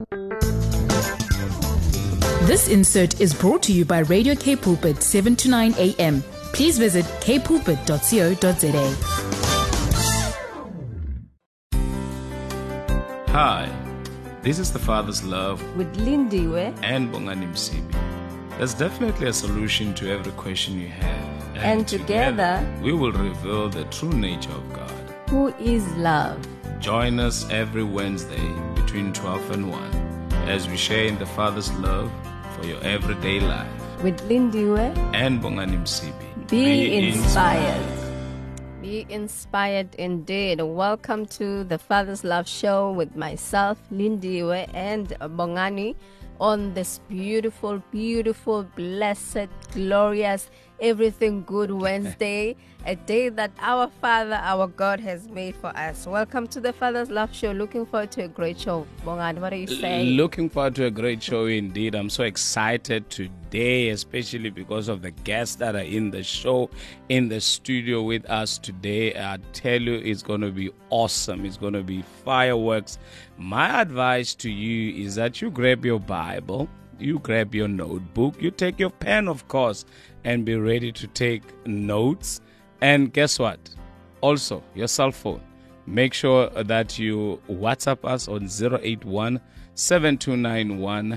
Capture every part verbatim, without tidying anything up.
This insert is brought to you by Radio K Pulpit, seven to nine a m. Please visit k pulpit dot co dot za. Hi, this is The Father's Love with Lindiwe and Bongani Msibi. There's definitely a solution to every question you have. And, and together, together, we will reveal the true nature of God, who is love. Join us every Wednesday between twelve and one as we share in the Father's love for your everyday life. With Lindiwe and Bongani Msibi. Be, Be inspired. inspired. Be inspired indeed. Welcome to the Father's Love Show with myself, Lindiwe, and Bongani on this beautiful, beautiful, blessed, glorious, everything good Wednesday, a day that our Father, our God has made for us. Welcome to the Father's Love Show. Looking forward to a great show. Bongani, what are you saying? Looking forward to a great show indeed. I'm so excited today, especially because of the guests that are in the show, in the studio with us today. I tell you, it's going to be awesome. It's going to be fireworks. My advice to you is that you grab your Bible, you grab your notebook, you take your pen, of course, and be ready to take notes. And guess what? Also, your cell phone. Make sure that you WhatsApp us on zero eight one, seven two nine one,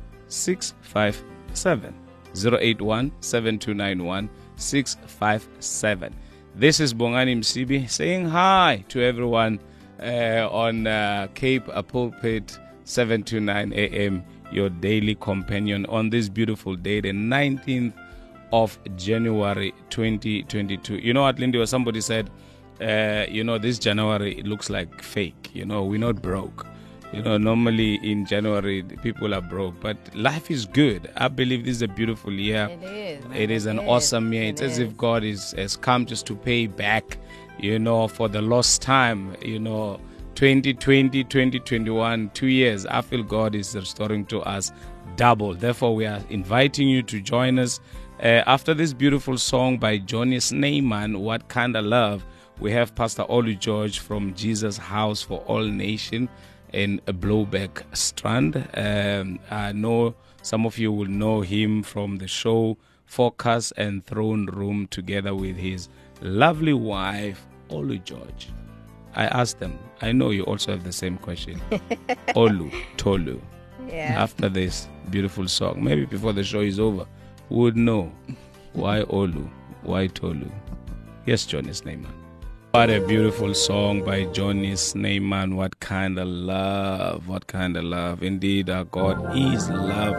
six five seven. zero eight one, seven two nine one, six five seven. This is Bongani Msibi saying hi to everyone uh, on uh, Cape Pulpit seven to nine a m, your daily companion on this beautiful day, the nineteenth of January twenty twenty-two. You know what, Lindy, or somebody said, uh, you know, this January, it looks like fake. You know, we're not broke. You know, normally in January, people are broke, but life is good. I believe this is a beautiful year. It is. It is an it awesome year. It It's is. as if God is has come just to pay back, you know, for the lost time, you know, twenty twenty, twenty twenty-one, two years. I feel God is restoring to us double. Therefore, we are inviting you to join us. Uh, after this beautiful song by Johnny Sneyman, What Kind of Love, we have Pastor Olu George from Jesus House for All Nation in Blowback Strand. Um, I know some of you will know him from the show Focus and Throne Room together with his lovely wife, Olu George. I asked them, I know you also have the same question. Olu, Tolu. Yeah. After this beautiful song, maybe before the show is over, would know why Olu, why Tolu. Yes, Johnny Sneyman. What a beautiful song by Johnny Sneyman. What kind of love, what kind of love. Indeed, our God is love.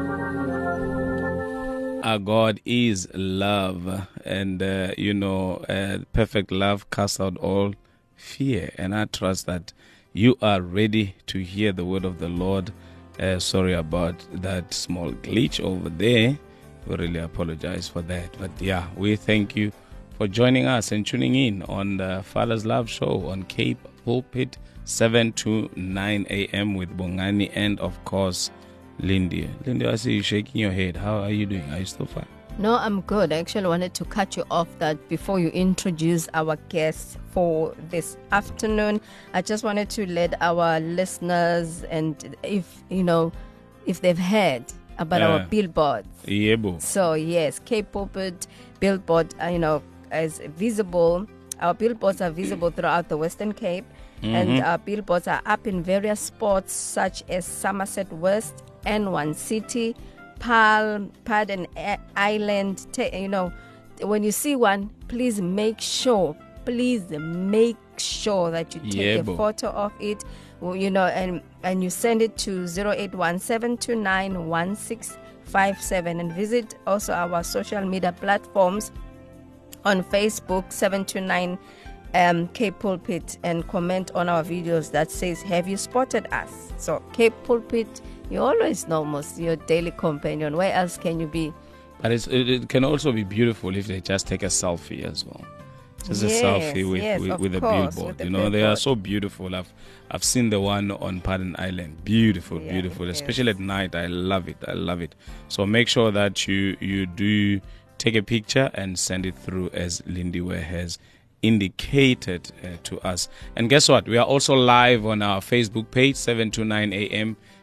Our God is love. And, uh, you know, uh, perfect love casts out all fear. And I trust that you are ready to hear the word of the Lord. Uh, sorry about that small glitch over there. We really apologize for that. But yeah, we thank you for joining us and tuning in on the Father's Love Show on Cape Pulpit seven to nine a m with Bongani and, of course, Lindy. Lindy, I see you shaking your head. How are you doing? Are you still fine? No, I'm good. I actually wanted to cut you off that before you introduce our guests for this afternoon. I just wanted to let our listeners, and if, you know, if they've heard about uh, our billboards. Yeah, boo. So, yes, Cape Pulpit billboard, uh, you know, is visible. Our billboards are visible throughout the Western Cape. Mm-hmm. And our billboards are up in various spots such as Somerset West, N one City, Palm, Paden Island. You know, when you see one, please make sure, please make sure that you take yeah, a boo. photo of it, you know, and, and you send it to zero eight one, seven two nine, one six five seven, and visit also our social media platforms on Facebook, seven two nine um, Cape Pulpit, and comment on our videos that says, have you spotted us? So Cape Pulpit, you always know most your daily companion. Where else can you be? But it's, it, it can also be beautiful if they just take a selfie as well. Just yes, a selfie with yes, with, with a course, billboard. with the you know, billboard. They are so beautiful. I've I've seen the one on Paden Island. Beautiful, Yeah, beautiful. it Especially at night. I love it. I love it. So make sure that you you do take a picture and send it through as Lindiwe has indicated uh, to us. And guess what? We are also live on our Facebook page, seven to nine a m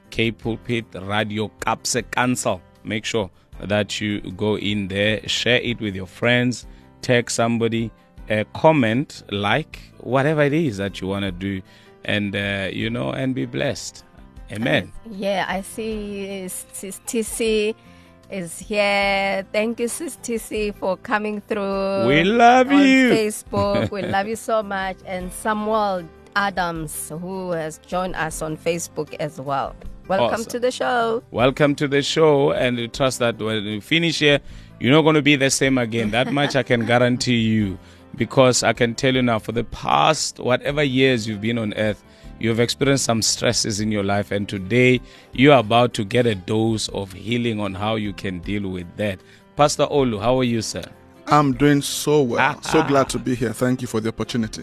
K Pulpit Radio Kapse Council. Make sure that you go in there, share it with your friends, tag somebody, uh, comment, like, whatever it is that you want to do, and, uh, you know, and be blessed. Amen. Yeah, I see Sis T C is here. Thank you, Sis T C, for coming through. We love on you. Facebook. We love you so much. And Samuel Adams, who has joined us on Facebook as well. Welcome Awesome. to the show. Welcome to the show, and we trust that when you finish here, you're not going to be the same again. That much I can guarantee you, because I can tell you now, for the past whatever years you've been on earth, you've experienced some stresses in your life, and today you are about to get a dose of healing on how you can deal with that. Pastor Olu, how are you, sir? I'm doing so well. So glad to be here. Thank you for the opportunity.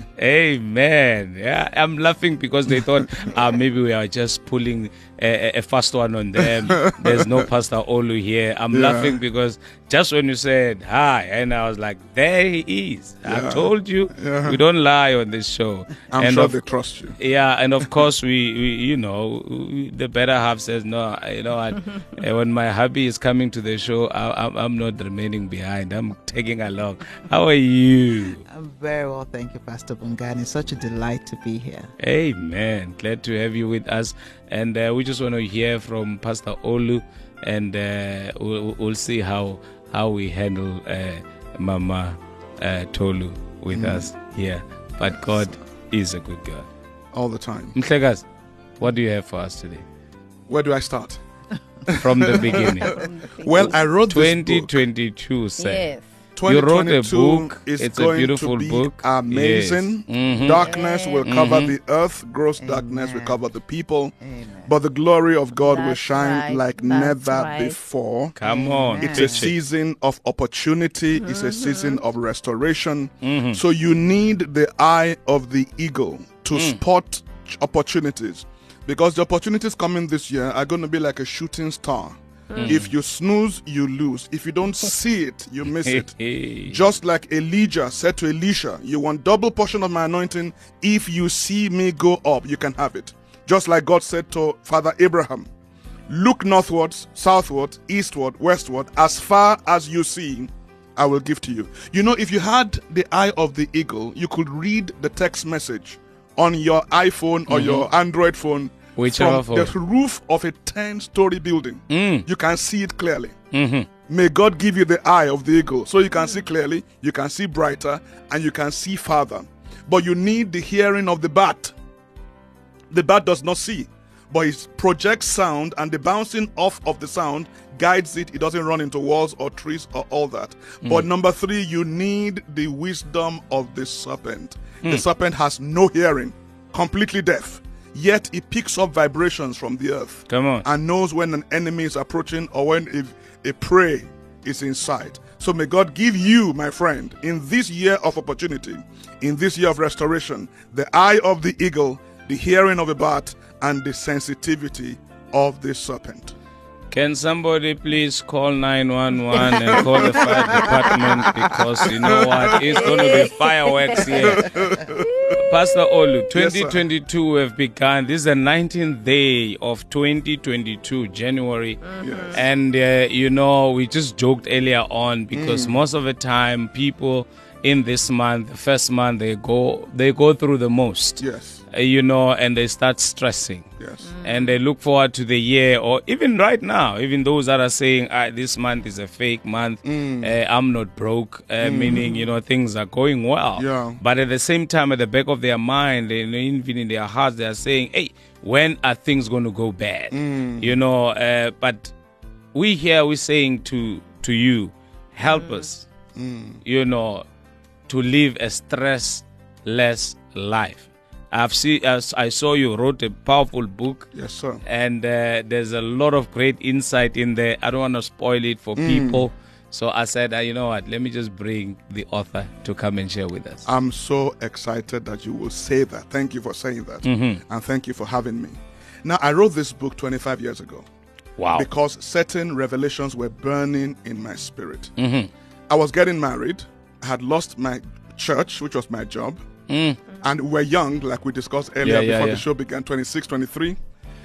Amen. Yeah, I'm laughing because they thought uh, maybe we are just pulling a, a fast one on them. There's no Pastor Olu here. I'm Yeah. laughing because just when you said hi, and I was like, there he is. Yeah. I told you, Yeah. we don't lie on this show. I'm and sure of, they trust you. Yeah, and of course, we, we you know, we, the better half says, no, you know what, uh, when my hubby is coming to the show, I, I'm, I'm not remaining behind. I'm taking along. How are you? I'm very well, thank you, Pastor Bongani. It's such a delight to be here. Amen. Glad to have you with us. And uh, we just want to hear from Pastor Olu, and uh, we'll, we'll see how how we handle uh, Mama uh, Tolu with Mm. us here. But God is a good God. All the time. Mhlekas, what do you have for us today? Where do I start? From the beginning. Well, I wrote this twenty book. twenty-two, sir. Yes. You wrote a twenty twenty-two book. is It's a going beautiful to be book. amazing. Yes. Mhm. Darkness will cover Mhm. the earth. Gross darkness will Amen. cover the people. Amen. But the glory of God will That's shine right. like That's never right. before. Come on. It's a preach it. season of opportunity. It's a season of restoration. Mhm. So you need the eye of the eagle to spot ch- opportunities, because the opportunities coming this year are going to be like a shooting star. If you snooze, you lose. If you don't see it, you miss it. Hey. Just like Elijah said to Elisha, you want double portion of my anointing. If you see me go up, you can have it. Just like God said to Father Abraham, look northwards, southward, eastward, westward, as far as you see, I will give to you. You know, if you had the eye of the eagle, you could read the text message on your iPhone or your Android phone, Whichever from phone. the roof of a ten-story building. Mm. You can see it clearly. Mhm. May God give you the eye of the eagle, so you can see clearly, you can see brighter, and you can see farther. But you need the hearing of the bat. The bat does not see, but it projects sound, and the bouncing off of the sound guides it. It doesn't run into walls or trees or all that. But number three, you need the wisdom of the serpent. The serpent has no hearing, completely deaf, yet it picks up vibrations from the earth Come on. and knows when an enemy is approaching or when a, a prey is in sight. So may God give you, my friend, in this year of opportunity, in this year of restoration, the eye of the eagle, the hearing of a bat, and the sensitivity of the serpent. Can somebody please call nine one one and call the fire department, because you know what? It's going to be fireworks here. Pastor Olu, Yes, sir. twenty twenty-two have begun. This is the nineteenth day of twenty twenty-two, January. Yes. And, uh, you know, we just joked earlier on, because Mm. most of the time people in this month, the first month, they go, they go through the most. Yes. Uh, you know, and they start stressing. Yes. And they look forward to the year, or even right now, even those that are saying, ah, this month is a fake month, Mm. uh, I'm not broke, uh, meaning, you know, things are going well. Yeah. But at the same time, at the back of their mind, and even in their hearts, they are saying, hey, when are things going to go bad? Mm. You know, uh, but we here, we're saying to, to you, help us, Mm. you know, to live a stressless life. I've seen, as I saw you wrote a powerful book, Yes, sir. and uh, there's a lot of great insight in there. I don't want to spoil it for people, so I said, uh, you know what? Let me just bring the author to come and share with us. I'm so excited that you will say that. Thank you for saying that. Mhm. And thank you for having me. Now, I wrote this book twenty-five years ago Wow. because certain revelations were burning in my spirit. Mhm. I was getting married. I had lost my church, which was my job. Mm. And we were young, like we discussed earlier Yeah, yeah, before yeah. the show began, twenty-six, twenty-three.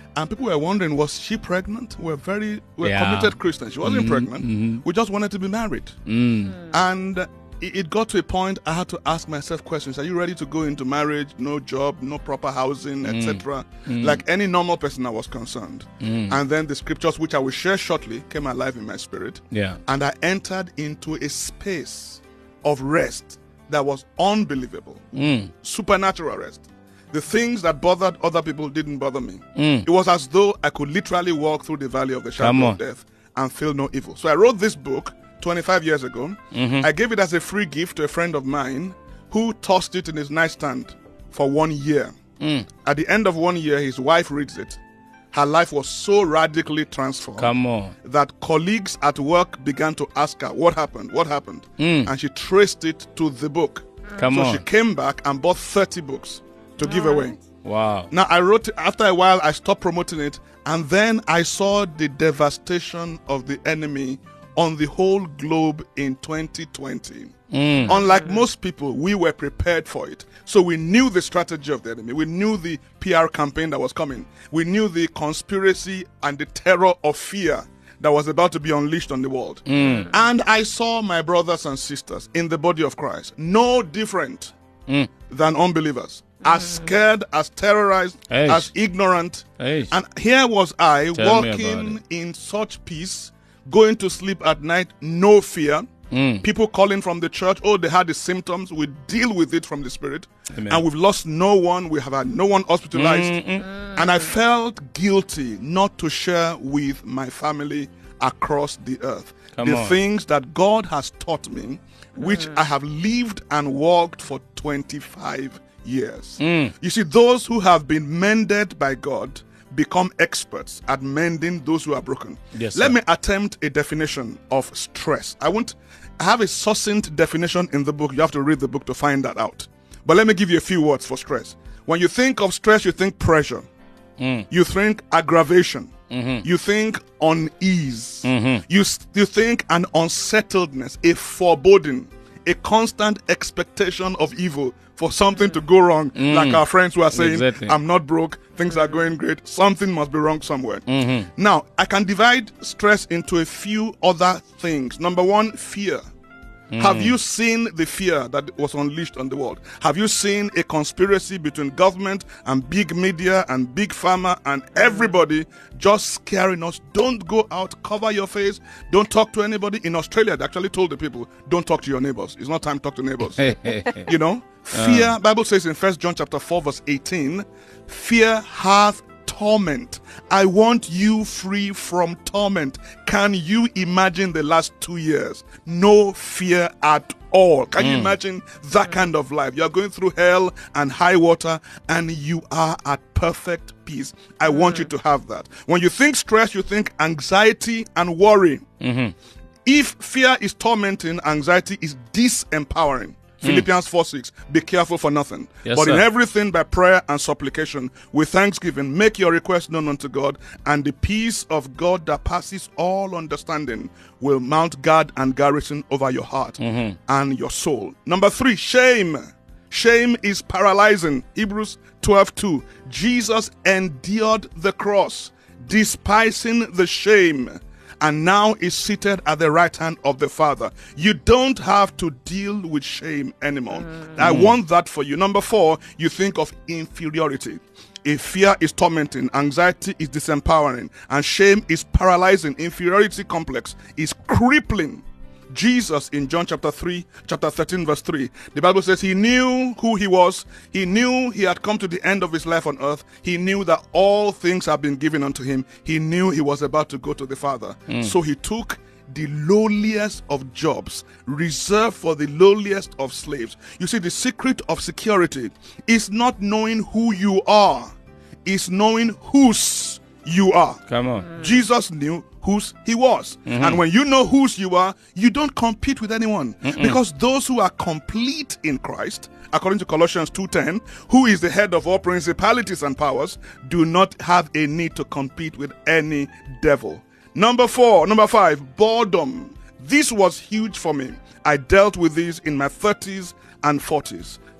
And people were wondering, was she pregnant? We're very we're Yeah. committed Christians. She wasn't Mhm, pregnant. mhm. We just wanted to be married. Mm. And it it got to a point I had to ask myself questions. Are you ready to go into marriage? No job, no proper housing, et cetera. Like any normal person, I was concerned. And then the scriptures, which I will share shortly, came alive in my spirit. Yeah. And I entered into a space of rest that was unbelievable. Mm. Supernatural rest. The things that bothered other people didn't bother me. Mm. It was as though I could literally walk through the valley of the shadow Come of on. death and feel no evil. So I wrote this book twenty-five years ago. Mm-hmm. I gave it as a free gift to a friend of mine who tossed it in his nightstand for one year. Mm. At the end of one year, his wife reads it. Her life was so radically transformed Come on. that colleagues at work began to ask her, what happened? What happened? Mm. And she traced it to the book. Come so on. she came back and bought thirty books to give away. Wow. Now, I wrote, after a while, I stopped promoting it, and then I saw the devastation of the enemy on the whole globe in twenty twenty. Mm. Unlike most people, we were prepared for it. So we knew the strategy of the enemy. We knew the P R campaign that was coming. We knew the conspiracy and the terror of fear that was about to be unleashed on the world. Mm. And I saw my brothers and sisters in the body of Christ, no different Mm. than unbelievers. As scared, as terrorized, Eish. as ignorant. Eish. And here was I Tell me about walking it. in such peace, going to sleep at night, no fear. Mm. People calling from the church, oh, they had the symptoms. We deal with it from the spirit. Amen. And we've lost no one. We have had no one hospitalized. Mm-mm. And I felt guilty not to share with my family across the earth Come the on. things that God has taught me, which I have lived and walked for twenty-five years. Mm. You see, those who have been mended by God become experts at mending those who are broken. Yes, Let sir. me attempt a definition of stress. I won't I have a succinct definition in the book. You have to read the book to find that out. But let me give you a few words for stress. When you think of stress, you think pressure. Mm. You think aggravation. Mm-hmm. You think unease. Mm-hmm. You, s- you think an unsettledness, a foreboding, a constant expectation of evil for something to go wrong. Mm. Like our friends who are saying, Exactly. I'm not broke, things are going great, something must be wrong somewhere. Mm-hmm. Now, I can divide stress into a few other things. Number one, fear. Have you seen the fear that was unleashed on the world? Have you seen a conspiracy between government and big media and big pharma and everybody just scaring us? Don't go out, cover your face, don't talk to anybody. In Australia, they actually told the people, don't talk to your neighbors. It's not time to talk to neighbors. You know, fear, Bible says in First John chapter four, verse eighteen, fear hath torment. I want you free from torment. Can you imagine the last two years? No fear at all. Can you imagine that kind of life? You're going through hell and high water and you are at perfect peace. I want you to have that. When you think stress, you think anxiety and worry. Mm-hmm. If fear is tormenting, anxiety is disempowering. Philippians four six, be careful for nothing. Yes, but in sir. everything by prayer and supplication, with thanksgiving, make your request known unto God, and the peace of God that passes all understanding will mount guard and garrison over your heart and your soul. Number three, shame. Shame is paralyzing. Hebrews twelve two. Jesus endured the cross, despising the shame, and now is seated at the right hand of the Father. You don't have to deal with shame anymore. I want that for you. Number four, you think of inferiority. If fear is tormenting, anxiety is disempowering, and shame is paralyzing, inferiority complex is crippling. Jesus in John chapter three, chapter thirteen, verse three, the Bible says he knew who he was. He knew he had come to the end of his life on earth. He knew that all things have been given unto him. He knew he was about to go to the Father. So he took the lowliest of jobs, reserved for the lowliest of slaves. You see, the secret of security is not knowing who you are, it's knowing whose you are. Come on. Jesus knew whose he was. And when you know whose you are, you don't compete with anyone. Because those who are complete in Christ, according to Colossians two ten, who is the head of all principalities and powers, do not have a need to compete with any devil. Number four, number five, boredom. This was huge for me. I dealt with this in my thirties and forties.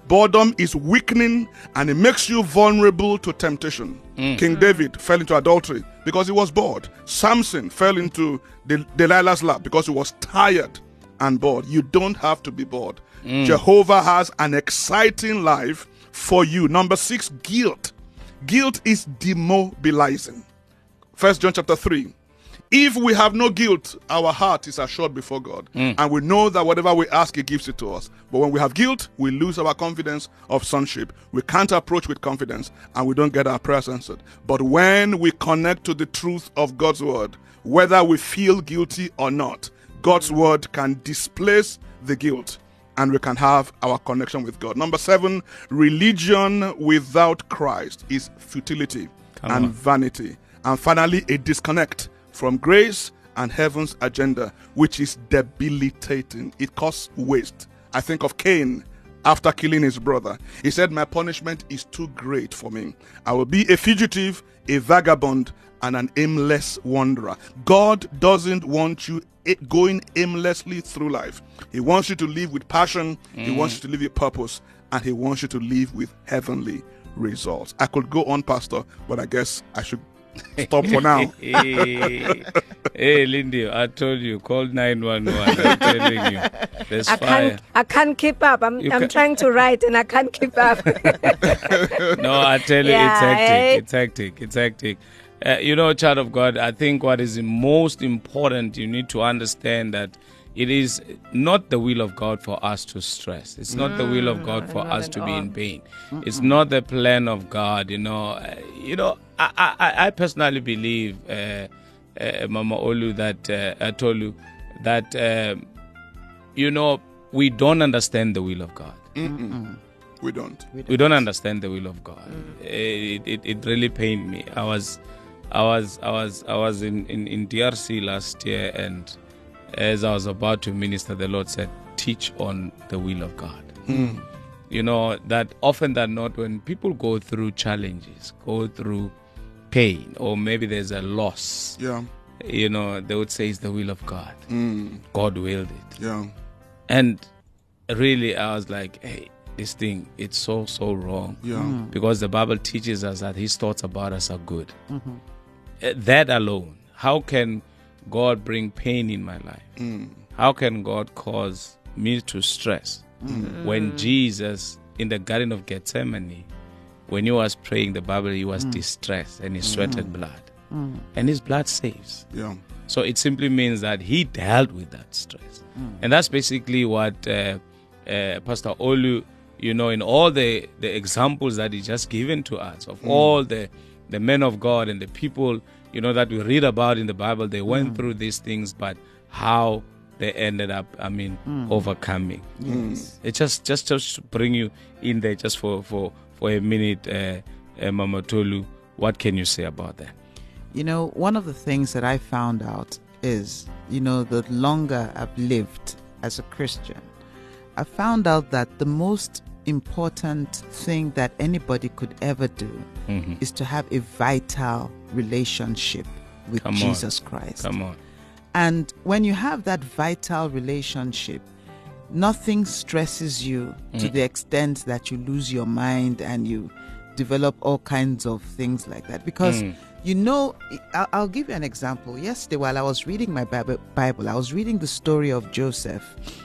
Boredom is weakening and it makes you vulnerable to temptation. Mm. King David fell into adultery because he was bored. Samson fell into Del- Delilah's lap because he was tired and bored. You don't have to be bored. Mm. Jehovah has an exciting life for you. Number six, guilt. Guilt is demobilizing. First John chapter three. If we have no guilt, our heart is assured before God. Mm. And we know that whatever we ask, He gives it to us. But when we have guilt, we lose our confidence of sonship. We can't approach with confidence and we don't get our prayers answered. But when we connect to the truth of God's word, whether we feel guilty or not, God's word can displace the guilt and we can have our connection with God. Number seven, religion without Christ is futility Come and on. vanity. And finally, a disconnect from grace and heaven's agenda, which is debilitating. It causes waste. I think of Cain after killing his brother. He said, my punishment is too great for me. I will be a fugitive, a vagabond, and an aimless wanderer. God doesn't want you going aimlessly through life. He wants you to live with passion. Mm. He wants you to live with purpose. And He wants you to live with heavenly results. I could go on, Pastor, but I guess I should stop for now. hey, hey, Lindy, I told you, call nine one one. I'm telling you, there's I fire. Can't, I can't keep up. I'm, You I'm can- trying to write and I can't keep up. No, I tell you, Yeah, it's hectic. eh? It's hectic. It's hectic. Uh, you know, child of God, I think what is the most important, you need to understand that it is not the will of God for us to stress. It's not the will of God for not us at to be all. in pain. It's not the plan of God. You know, uh, you know. I, I, I personally believe, uh, uh, Mama Olu, that uh, I told you that um, you know we don't understand the will of God. Mm-mm. We don't. We don't understand the will of God. It, it it really pained me. I was I was I was I was in, in, in D R C last year, and as I was about to minister, the Lord said, teach on the will of God. Mm. You know, that often than not, when people go through challenges, go through pain, or maybe there's a loss, Yeah. you know, they would say it's the will of God. Mm. God willed it. Yeah. And really, I was like, hey, this thing, it's so, so wrong. Yeah. Because the Bible teaches us that His thoughts about us are good. Mm-hmm. Uh, That alone, how can God bring pain in my life? Mm. How can God cause me to stress? Mm. When Jesus, in the Garden of Gethsemane, when He was praying, the Bible, He was distressed and He sweated blood. And His blood saves. Yeah. So it simply means that He dealt with that stress. And that's basically what uh, uh, Pastor Olu, you know, in all the, the examples that He just given to us, of all the, the men of God and the people, you know, that we read about in the Bible, they went through these things, but how they ended up, I mean, overcoming. Yes. It just, just, just to bring you in there just for, for, for a minute, uh, uh, Mama Tolu, what can you say about that? You know, one of the things that I found out is, you know, the longer I've lived as a Christian, I found out that the most important thing that anybody could ever do Mm-hmm. is to have a vital relationship with Come on. Jesus Christ. Come on. And when you have that vital relationship, nothing stresses you to the extent that you lose your mind and you develop all kinds of things like that. Because, Mm. you know, I'll, I'll give you an example. Yesterday, while I was reading my Bible, Bible, I was reading the story of Joseph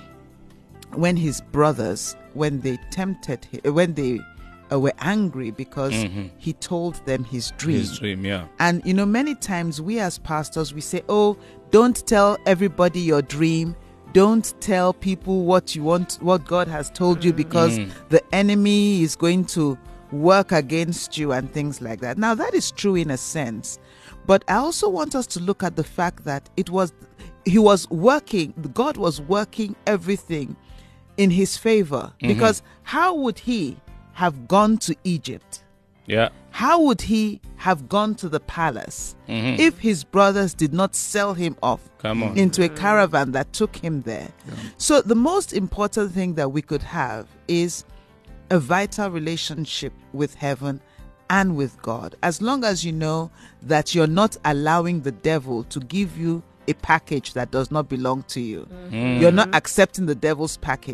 when his brothers, when they tempted him, when they uh, were angry because Mhm. he told them his dream. His dream, yeah. And, you know, many times we as pastors, we say, oh, don't tell everybody your dream. Don't tell people what you want, what God has told you, because Mm. the enemy is going to work against you and things like that. Now, that is true in a sense. But I also want us to look at the fact that it was, he was working, God was working everything in his favor. Because how would he have gone to Egypt? Yeah. How would he have gone to the palace Mhm. if his brothers did not sell him off Come on. into a caravan that took him there? So the most important thing that we could have is a vital relationship with heaven and with God. As long as you know that you're not allowing the devil to give you a package that does not belong to you. You're not accepting the devil's package.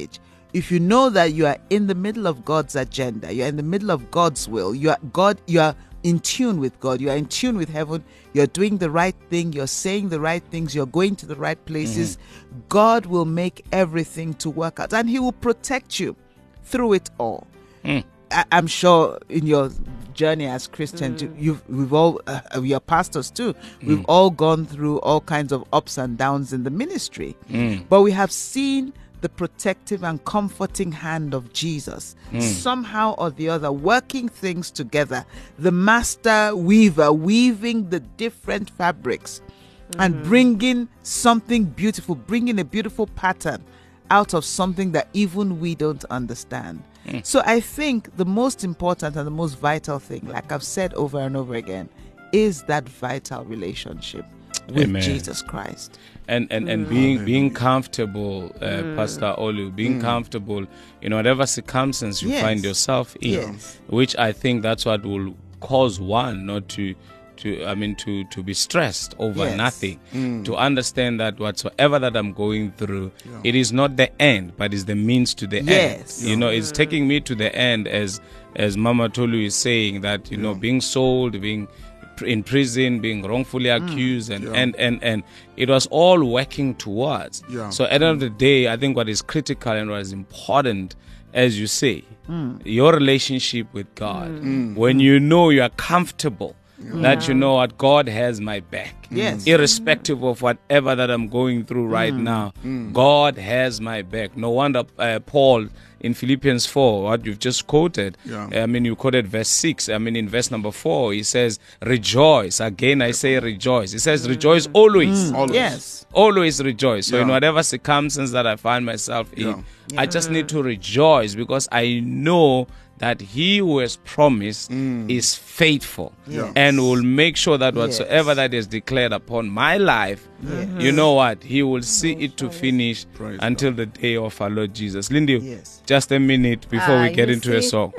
if you know that you are in the middle of God's agenda, you're in the middle of God's will, you are God, you are in tune with God, you are in tune with heaven, you're doing the right thing, you're saying the right things, you're going to the right places, mm-hmm. God will make everything to work out, and He will protect you through it all. Mm. I, I'm sure in your journey as Christians, mm. you've we've all uh, we are pastors too. Mm. We've all gone through all kinds of ups and downs in the ministry, mm. but we have seen the protective and comforting hand of Jesus, mm. somehow or the other, working things together. The master weaver weaving the different fabrics mm. and bringing something beautiful, bringing a beautiful pattern out of something that even we don't understand. Mm. So I think the most important and the most vital thing, like I've said over and over again, is that vital relationship with Amen. Jesus Christ. And and, and mm. being being comfortable, uh, mm. Pastor Olu, being mm. comfortable in whatever circumstance you yes. find yourself in, yes. which I think that's what will cause one not to, to I mean, to, to be stressed over yes. nothing, mm. to understand that whatsoever that I'm going through, yeah. it is not the end, but is the means to the yes. end. You know, it's taking me to the end, as as Mama Tolu is saying, that, you yeah. know, being sold, being in prison, being wrongfully accused, mm, and, yeah. and, and, and it was all working towards. Yeah. So at the end of the day, I think what is critical and what is important, as you say, mm. your relationship with God, mm. when mm. you know you are comfortable, yeah. that you know what, God has my back. Yes. Irrespective of whatever that I'm going through right mm. now, mm. God has my back. No wonder uh, Paul in Philippians four, what you've just quoted, yeah. I mean, you quoted verse six. I mean, in verse number four, he says, rejoice. Again, I say rejoice. He says, rejoice always. Mm. Always. Yes. Always rejoice. So yeah. in whatever circumstance that I find myself in, yeah. Yeah. I just need to rejoice, because I know that He who has promised mm. is faithful, yes. and will make sure that whatsoever yes. that is declared upon my life, yes. you know what, He will see it to finish Praise until God. the day of our Lord Jesus. Lindy, yes. just a minute before Ah, we get you into a see? song.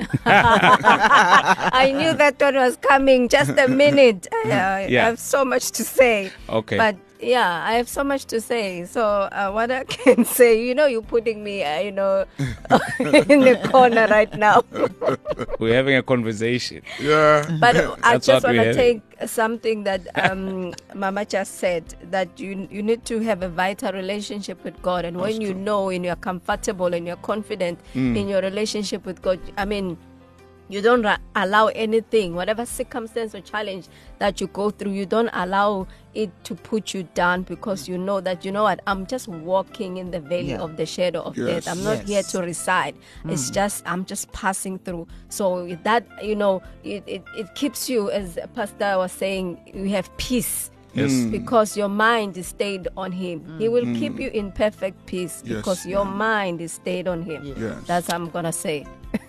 I knew that one was coming. Just a minute. I, uh, Yeah. I have so much to say. Okay. But yeah, I have so much to say. So uh, what I can say, you know, you're putting me, uh, you know, in the corner right now. We're having a conversation. Yeah. But I That's just what want we to have. take something that um, Mama just said, that you you need to have a vital relationship with God. And when That's you true. know and you're comfortable and you're confident Mm. in your relationship with God, I mean, you don't ra- allow anything, whatever circumstance or challenge that you go through, you don't allow it to put you down, because you know that, you know what, I'm just walking in the valley Yeah. of the shadow of Yes. death. I'm not Yes. here to reside. It's just, I'm just passing through. So that, you know, it, it, it keeps you, as Pastor was saying, you have peace. Yes. Because your mind is stayed on Him. He will keep you in perfect peace Yes. because your mind is stayed on Him. Yes. That's what I'm going to say.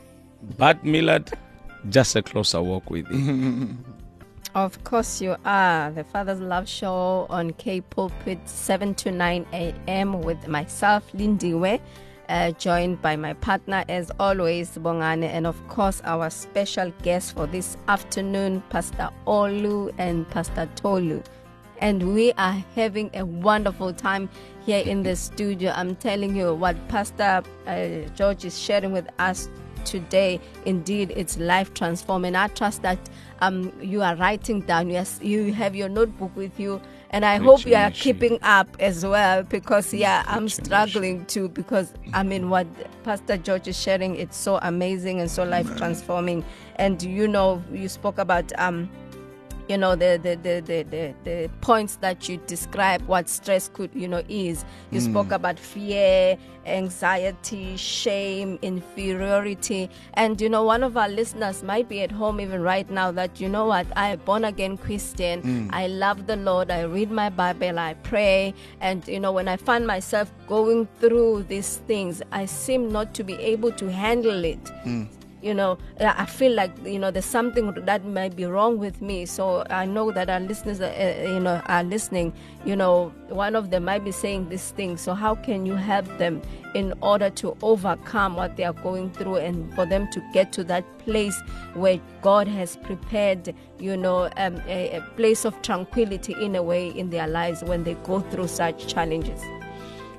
But Millard, just a closer walk with you. Of course you are. The Father's Love Show on K Pulpit, seven to nine a.m. with myself, Lindiwe, uh, joined by my partner, as always, Bongane, and of course our special guest for this afternoon, Pastor Olu and Pastor Tolu. And we are having a wonderful time here in the studio. I'm telling you what Pastor uh, George is sharing with us today, indeed, it's life transforming. I trust that um you are writing down, yes, you have your notebook with you, and I hope you are keeping up as well, because yeah, I'm struggling too, because I mean what Pastor George is sharing, it's so amazing and so life transforming. And you know, you spoke about um you know, the the, the, the, the the points that you describe what stress could, you know, is. You mm. spoke about fear, anxiety, shame, inferiority. And, you know, one of our listeners might be at home even right now that, you know what, I'm a born-again Christian. Mm. I love the Lord. I read my Bible. I pray. And, you know, when I find myself going through these things, I seem not to be able to handle it. Mm. You know, I feel like, you know, there's something that might be wrong with me. So I know that our listeners, are, uh, you know, are listening. You know, one of them might be saying this thing. So how can you help them in order to overcome what they are going through, and for them to get to that place where God has prepared, you know, um, a, a place of tranquility in a way in their lives when they go through such challenges?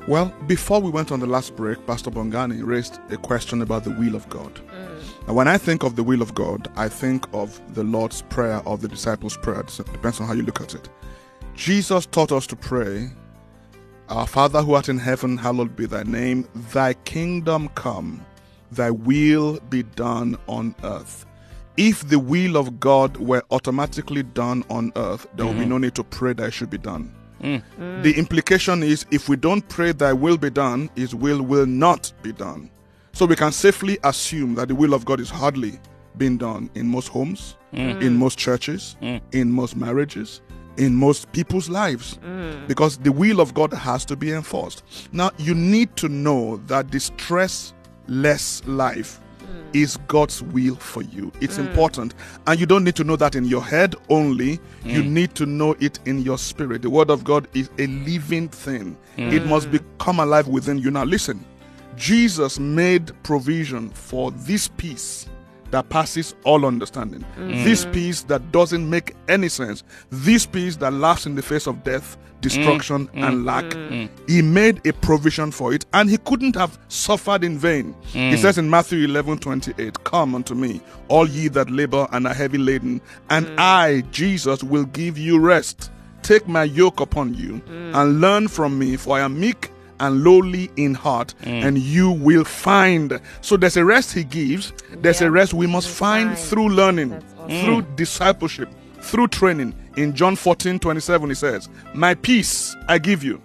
Well, before we went on the last break, Pastor Bongani raised a question about the will of God. Mm. Now, when I think of the will of God, I think of the Lord's Prayer or the disciples' prayer. It depends on how you look at it. Jesus taught us to pray, Our Father who art in heaven, hallowed be thy name. Thy kingdom come, thy will be done on earth. If the will of God were automatically done on earth, there would be no need to pray that it should be done. Mm. Mm. The implication is if we don't pray thy will be done, his will will not be done. So we can safely assume that the will of God is hardly being done in most homes, Mm. in most churches, Mm. in most marriages, in most people's lives, because the will of God has to be enforced. Now, you need to know that the stressless life is God's will for you. It's important. And you don't need to know that in your head only. You need to know it in your spirit. The word of God is a living thing. It must become alive within you. Now listen, Jesus made provision for this peace that passes all understanding. This peace that doesn't make any sense. This peace that laughs in the face of death, destruction, and lack. He made a provision for it, and he couldn't have suffered in vain. He says in Matthew eleven twenty-eight, Come unto me, all ye that labor and are heavy laden, and I, Jesus, will give you rest. Take my yoke upon you, and learn from me, for I am meek and lowly in heart, and you will find. So there's a rest he gives. There's Yeah, a rest we must we find find. through learning, That's awesome. through discipleship, through training. In John fourteen twenty-seven, he says, My peace I give you,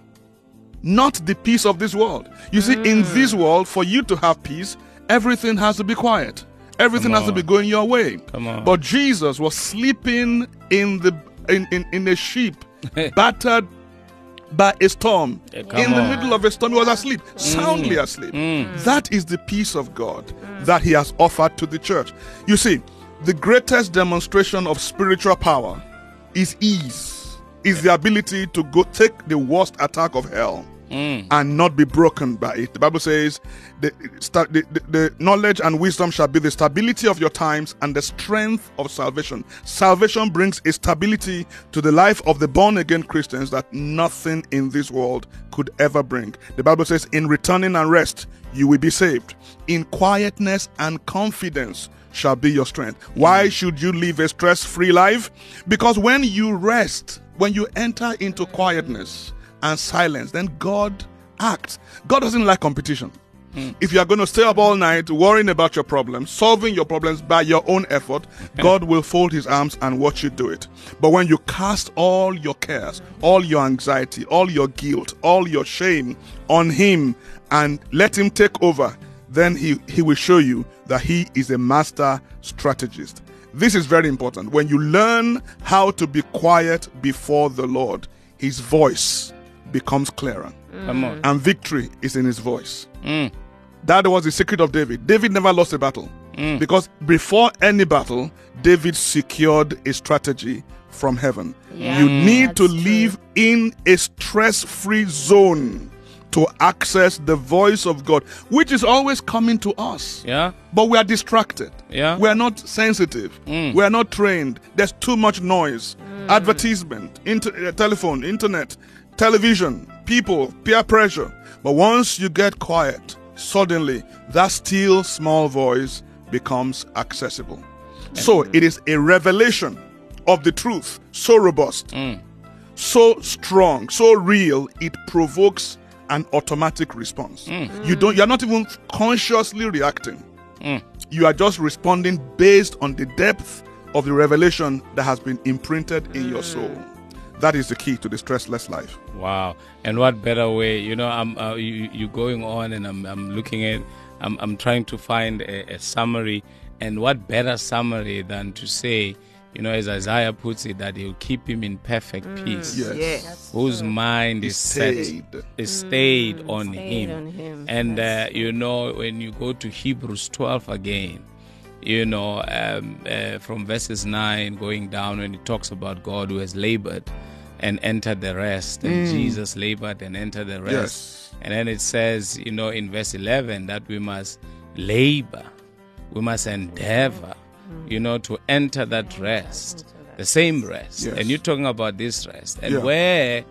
not the peace of this world. You see, in this world, for you to have peace, everything has to be quiet. Everything Come has to be on. going your way. Come on. But Jesus was sleeping in the in, in, in a sheep, battered by a storm. Yeah, come in the on. middle of a storm, he was asleep, soundly asleep. That is the peace of God that he has offered to the church. You see, the greatest demonstration of spiritual power is ease, is the ability to go take the worst attack of hell and not be broken by it. The Bible says the, sta- the, the, the knowledge and wisdom shall be the stability of your times and the strength of salvation. Salvation brings a stability to the life of the born-again Christians that nothing in this world could ever bring. The Bible says, in returning and rest, you will be saved. In quietness and confidence shall be your strength. Why should you live a stress-free life? Because when you rest, when you enter into quietness and silence, then God acts. God doesn't like competition. If you are going to stay up all night worrying about your problems, solving your problems by your own effort, God will fold his arms and watch you do it. But when you cast all your cares, all your anxiety, all your guilt, all your shame on him and let him take over, then he, he will show you that he is a master strategist. This is very important. When you learn how to be quiet before the Lord, his voice becomes clearer. Come on. And victory is in his voice. Mm. That was the secret of David. David never lost a battle. Mm. Because before any battle, David secured a strategy from heaven. Yeah, you need to that's true. live in a stress-free zone to access the voice of God, which is always coming to us. Yeah. But we are distracted. Yeah. We are not sensitive. Mm. We are not trained. There's too much noise. Advertisement, inter- uh, telephone, internet, television, people, peer pressure. But once you get quiet, suddenly that still small voice becomes accessible. So it is a revelation of the truth, so robust, Mm. so strong, so real, it provokes an automatic response. You don't you're not even consciously reacting. Mm. You are just responding based on the depth of the revelation that has been imprinted in your soul. That is the key to the stressless life. Wow. And what better way? You know, I'm uh, you you going on, and I'm I'm looking at, I'm I'm trying to find a, a summary, and what better summary than to say, you know, as Isaiah puts it, that he'll keep him in perfect peace, Yes. Yes. whose mind is set, Stayed. is stayed on Stayed him. on him. And uh, That's you know, when you go to Hebrews twelve again, you know, um, uh, from verses nine going down, when it talks about God who has labored and entered the rest, and Jesus labored and entered the rest. Yes. And then it says, you know, in verse eleven, that we must labor, we must endeavor, you know, to enter that rest, the same rest. Yes. And you're talking about this rest. And Yeah. where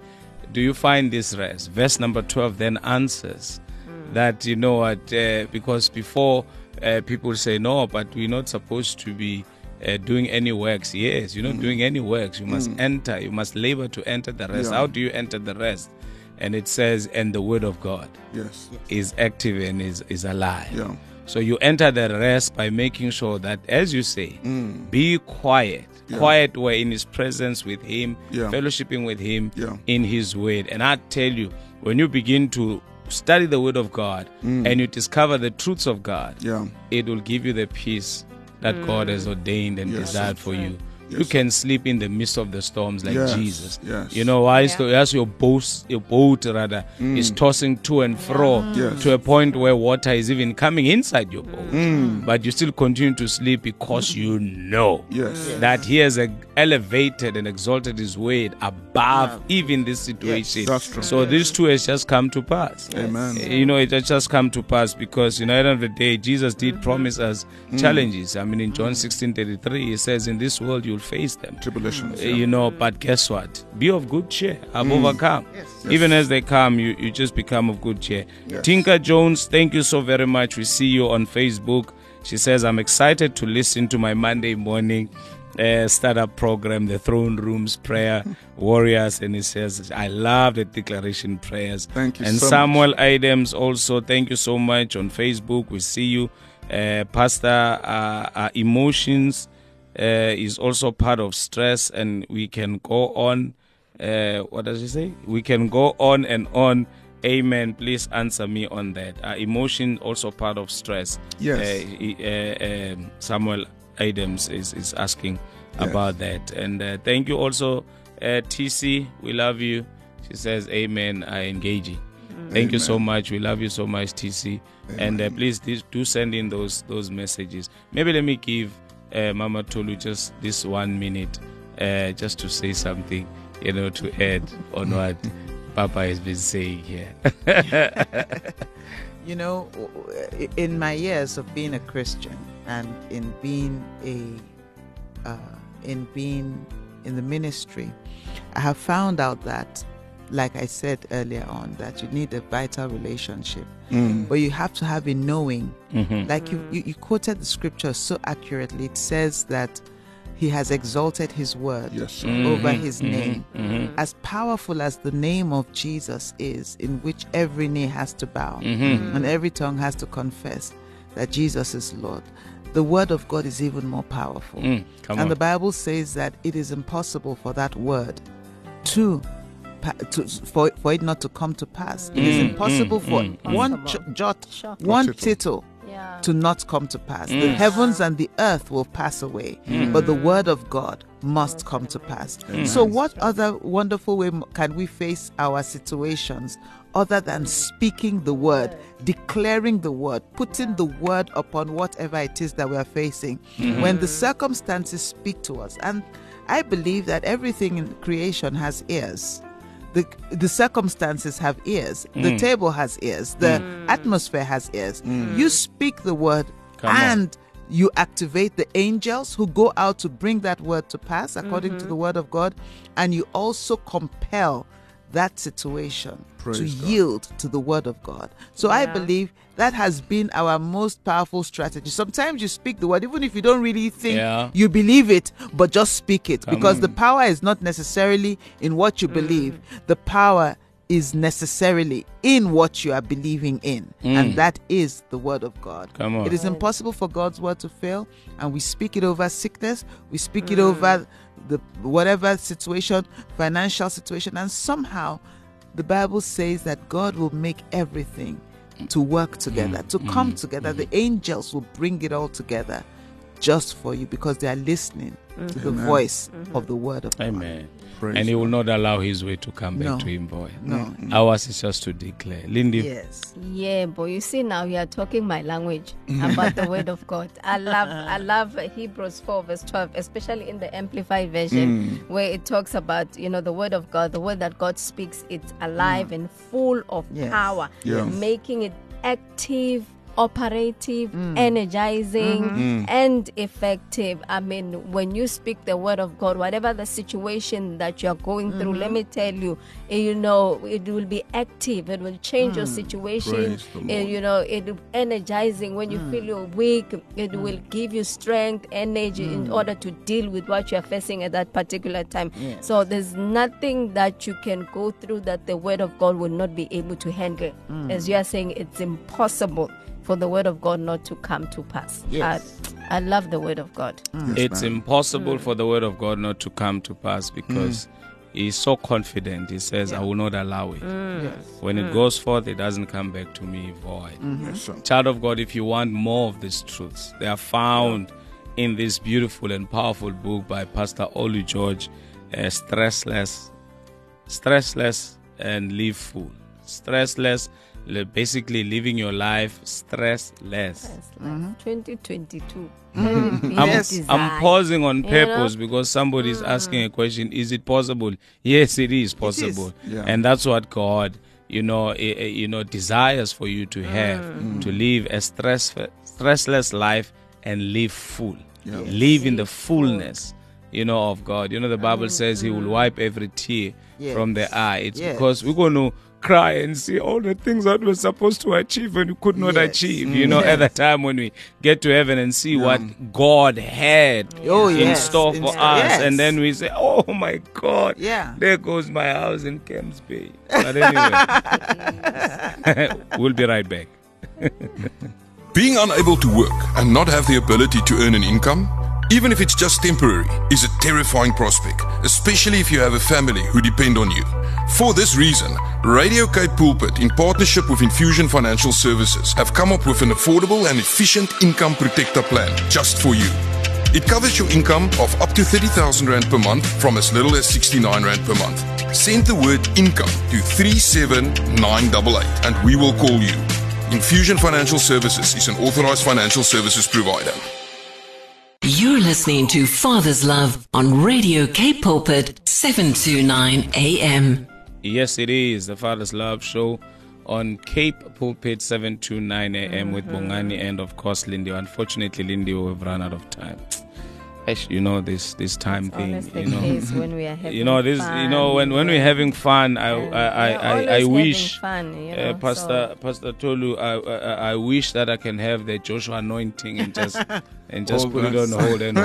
do you find this rest? Verse number twelve then answers that, you know what, uh, because before uh, people say, no, but we're not supposed to be uh, doing any works. Yes, you're not Mm. doing any works. You must enter, you must labor to enter the rest. Yeah. How do you enter the rest? And it says, and the word of God Yes. is active and is, is alive. Yeah. So you enter the rest by making sure that, as you say, Mm. be quiet. Yeah. Quiet were in his presence with him, Yeah. fellowshipping with him Yeah. in his word. And I tell you, when you begin to study the word of God Mm. and you discover the truths of God, Yeah. it will give you the peace that God has ordained and Yes. desired for you. You Yes. can sleep in the midst of the storms like Yes. Jesus. Yes. You know why? Yeah. So as your boat, your boat rather, is tossing to and fro Yes. to a point where water is even coming inside your boat, Mm. but you still continue to sleep because you know Yes. that He has uh, elevated and exalted His word above even this situation. That's true. So these two has just come to pass. Amen. You know, it has just come to pass because, you know, at the end of the day, Jesus did promise us challenges. I mean, in John sixteen thirty-three, He says, in this world you'll face them. Tribulations. Uh, Yeah. You know, but guess what? Be of good cheer. I've overcome. Yes. Even as they come, you, you just become of good cheer. Yes. Tinka Jones, thank you so very much. We see you on Facebook. She says, I'm excited to listen to my Monday morning uh, startup program, the Throne Rooms Prayer Warriors. And he says, I love the declaration prayers. Thank you And so Samuel Adams also, thank you so much on Facebook. We see you. Uh, Pastor uh, uh, Emotions uh, is also part of stress, and we can go on. Uh, what does he say? We can go on and on. Amen. Please answer me on that. Uh, emotion also part of stress. Yes. Uh, he- uh, um, Samuel Adams is, is asking Yes. about that. And uh, thank you also, uh, T C. We love you. She says, Amen. I engage you. Thank you so Amen. much. We love you so much, T C. And uh, please do do send in those those messages. Maybe let me give uh, Mama Tolu just this one minute, uh, just to say something, you know, to add on what Papa has been saying here. You know, in my years of being a Christian and in being a, uh, in being in the ministry, I have found out that, like I said earlier on, that you need a vital relationship, Mm. but you have to have a knowing. Mhm. Like you, you, you quoted the scripture so accurately. It says that He has exalted His word Yes. sir. Mhm, over His mhm, name. mhm, As powerful as the name of Jesus is, in which every knee has to bow mhm. and every tongue has to confess that Jesus is Lord, the word of God is even more powerful. Mm, come and on. the Bible says that it is impossible for that word to, pa- to for, for it not to come to pass. It is Mm, impossible mm, for mm, one Impossible. j- jot, Sure. one tittle. tittle Yeah. to not come to pass. The Mm. heavens and the earth will pass away, but the word of God must come to pass. So, what other wonderful way m- can we face our situations other than speaking the word, declaring the word, putting the word upon whatever it is that we are facing? When the circumstances speak to us, and I believe that everything in creation has ears. The, the circumstances have ears. The table has ears. The atmosphere has ears. You speak the word Come on. and you activate the angels who go out to bring that word to pass according to the word of God, and you also compel that situation Praise to God. yield to the word of God. So I Yeah. believe that has been our most powerful strategy. Sometimes you speak the word even if you don't really think Yeah. you believe it, but just speak it, Come because on. the power is not necessarily in what you believe. The power is necessarily in what you are believing in, and that is the word of God. Come on. It is impossible for God's word to fail, and we speak it over sickness, we speak it over the whatever situation, financial situation, and somehow the Bible says that God will make everything to work together, to come together. The angels will bring it all together just for you, because they are listening to the Amen. voice of the word of God. Amen. Praise And He will God. not allow His way to come back No. to Him void. No. Ours is just to declare. Lindy, Yes. Yeah, but you see now you are talking my language about the word of God. I love I love Hebrews four verse twelve, especially in the Amplified version, where it talks about, you know, the word of God, the word that God speaks, it's alive and full of Yes. power, Yeah. making it active operative, energizing, and effective. I mean, when you speak the word of God, whatever the situation that you're going through, let me tell you, eh, you know, it will be active. It will change your situation. Praise the Eh, Lord. you know, it will be energizing. When you feel you're weak, it will give you strength, energy in order to deal with what you're facing at that particular time. Yes. So there's nothing that you can go through that the word of God will not be able to handle. As you are saying, it's impossible for the word of God not to come to pass. Yes. I, I love the word of God. It's impossible for the word of God not to come to pass because he's so confident. He says, I will not allow it. When it goes forth, it doesn't come back to me void. Yes, sir. Child of God, if you want more of these truths, they are found in this beautiful and powerful book by Pastor Olu George, uh, Stressless, Stressless and Live Full. Stressless, li- basically living your life stressless. That's like twenty twenty-two. I'm, Yes. I'm pausing on You know? purpose because somebody is asking a question. Is it possible? Yes, it is possible, Yeah. and that's what God, you know, eh, eh, you know, desires for you to have to live a stress stressless life and live full, Yeah. live in the fullness, you know, of God. You know, the Bible says He will wipe every tear Yes. from the eye. It's Yes. because we're going to cry and see all the things that we're supposed to achieve and we could not Yes. achieve, you know, at the time when we get to heaven and see what God had Oh, in yes. store In for store, us. yes. And then we say, oh my God, Yeah. there goes my house in Camps Bay. But anyway, we'll be right back. Being unable to work and not have the ability to earn an income, even if it's just temporary, is a terrifying prospect, especially if you have a family who depend on you. For this reason, Radio Cape Pulpit, in partnership with Infusion Financial Services, have come up with an affordable and efficient income protector plan just for you. It covers your income of up to thirty thousand rand per month from as little as sixty-nine rand per month. Send the word income to three seven nine eight eight and we will call you. Infusion Financial Services is an authorized financial services provider. You're listening to Father's Love on Radio Cape Pulpit, seven twenty-nine A M. Yes, it is the Father's Love Show on Cape Pulpit, seven twenty-nine A M with Bongani and, of course, Lindy. Unfortunately, Lindy, we've run out of time. Eish, You know, this this time thing, Always the you know. case when we are having You know this. fun. You know when, when we're having fun, I And I I, we're I, always I having wish, fun, you uh, know, Pastor so- Pastor Tolu, I, I I wish that I can have the Joshua anointing and just and just Hold put it us. on hold and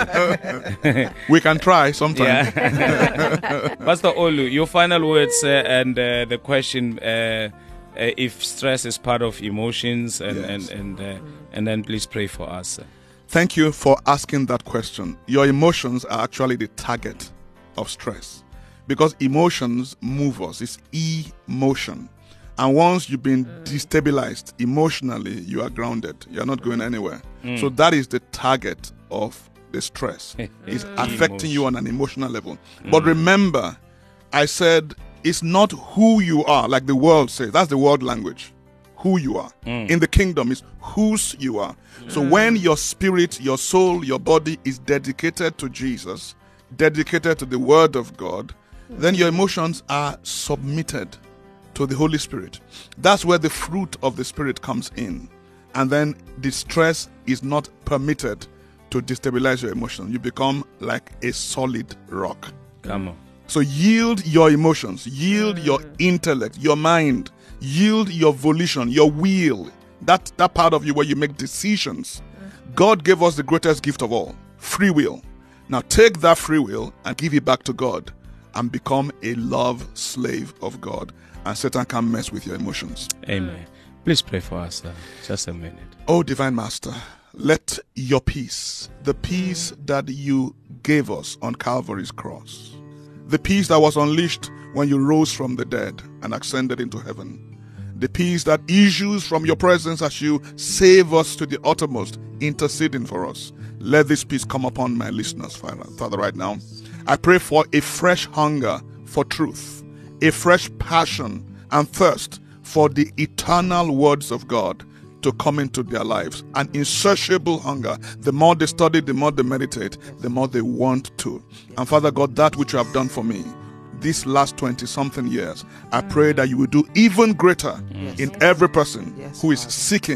hold it. We can try sometime. Yeah. Pastor Olu, your final words uh, and uh, the question: uh, uh, if stress is part of emotions, and Yes. and and, uh, and then please pray for us. Thank you for asking that question. Your emotions are actually the target of stress because emotions move us. It's emotion. And once you've been destabilized emotionally, you are grounded. You're not going anywhere. So that is the target of the stress. It's affecting you on an emotional level. But remember, I said it's not who you are, like the world says. That's the world language. Who you are. In the kingdom is whose you are. So when your spirit, your soul, your body is dedicated to Jesus, dedicated to the word of God, then your emotions are submitted to the Holy Spirit. That's where the fruit of the Spirit comes in. And then the stress is not permitted to destabilize your emotion. You become like a solid rock. Come on. So yield your emotions, yield your intellect, your mind, yield your volition, your will, that, that part of you where you make decisions. God gave us the greatest gift of all, free will. Now take that free will and give it back to God and become a love slave of God. And Satan can't mess with your emotions. Amen. Please pray for us. Uh, just a minute. Oh, Divine Master, let your peace, the peace that you gave us on Calvary's cross, the peace that was unleashed when you rose from the dead and ascended into heaven, the peace that issues from your presence as you save us to the uttermost, interceding for us. Let this peace come upon my listeners, Father, Father, right now. I pray for a fresh hunger for truth, a fresh passion and thirst for the eternal words of God to come into their lives. An insatiable hunger. The more they study, the more they meditate, the more they want to. And Father God, that which you have done for me these last twenty-something years, I pray that you will do even greater Yes. in every person Yes, who is Father. seeking Yes,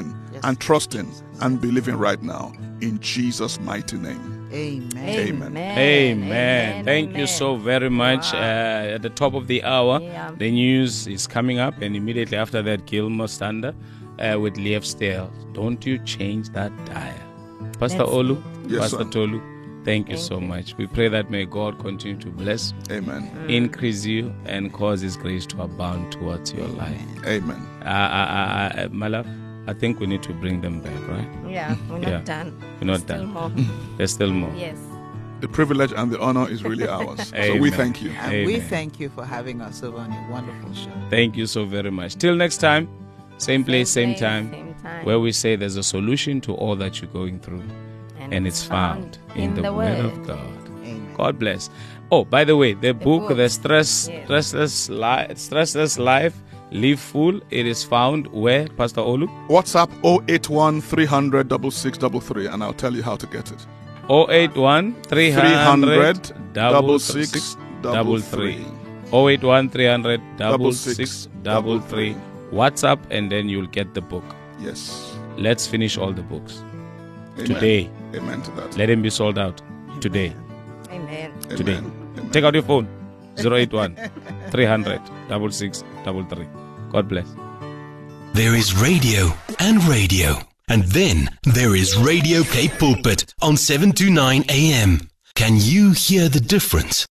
and trusting and believing right now in Jesus' mighty name. Amen. Amen. Amen. Amen. Thank Amen. you so very much. Wow. Uh, at the top of the hour, Yeah. the news is coming up, and immediately after that, Gilmore Stander uh, with Lief Stale. Don't you change that dial. Pastor That's Olu, Yes, Pastor sir. Tolu, thank you Thank so you. much. We pray that may God continue to bless, Amen. increase you, and cause His grace to abound towards your life. Amen. Uh, uh, uh, uh, my love, I think we need to bring them back, right? Yeah, we're not Yeah. done. We're not Still done. more. There's still more. Yes. The privilege and the honor is really ours. So we Amen. thank you. And we Amen. thank you for having us over on your wonderful show. Thank you so very much. Till next time, same place, same, place, time, same time. where we say there's a solution to all that you're going through, and, it's found in, the, Word of God. Amen. God bless. Oh, by the way, the, book, book. The Stress, Yes. Stressless, Li- Stressless Life, Live Full, it is found where, Pastor Olu? WhatsApp oh eight one, three hundred, six six three three, and I'll tell you how to get it. oh eight one, three hundred, six six three three. oh eight one, three hundred, six six three three. WhatsApp, and then you'll get the book. Yes. Let's finish all the books Amen. today. Amen to that. Let them be sold out today. Amen. Today. Amen. Amen. Take out your phone. zero eight one, three hundred, six six three three. God bless. There is radio and radio. And then there is Radio Cape Pulpit on seven to nine A M. Can you hear the difference?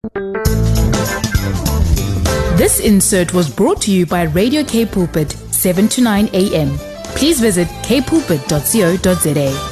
This insert was brought to you by Radio K Pulpit, seven to nine a.m. Please visit k pulpit dot co dot za.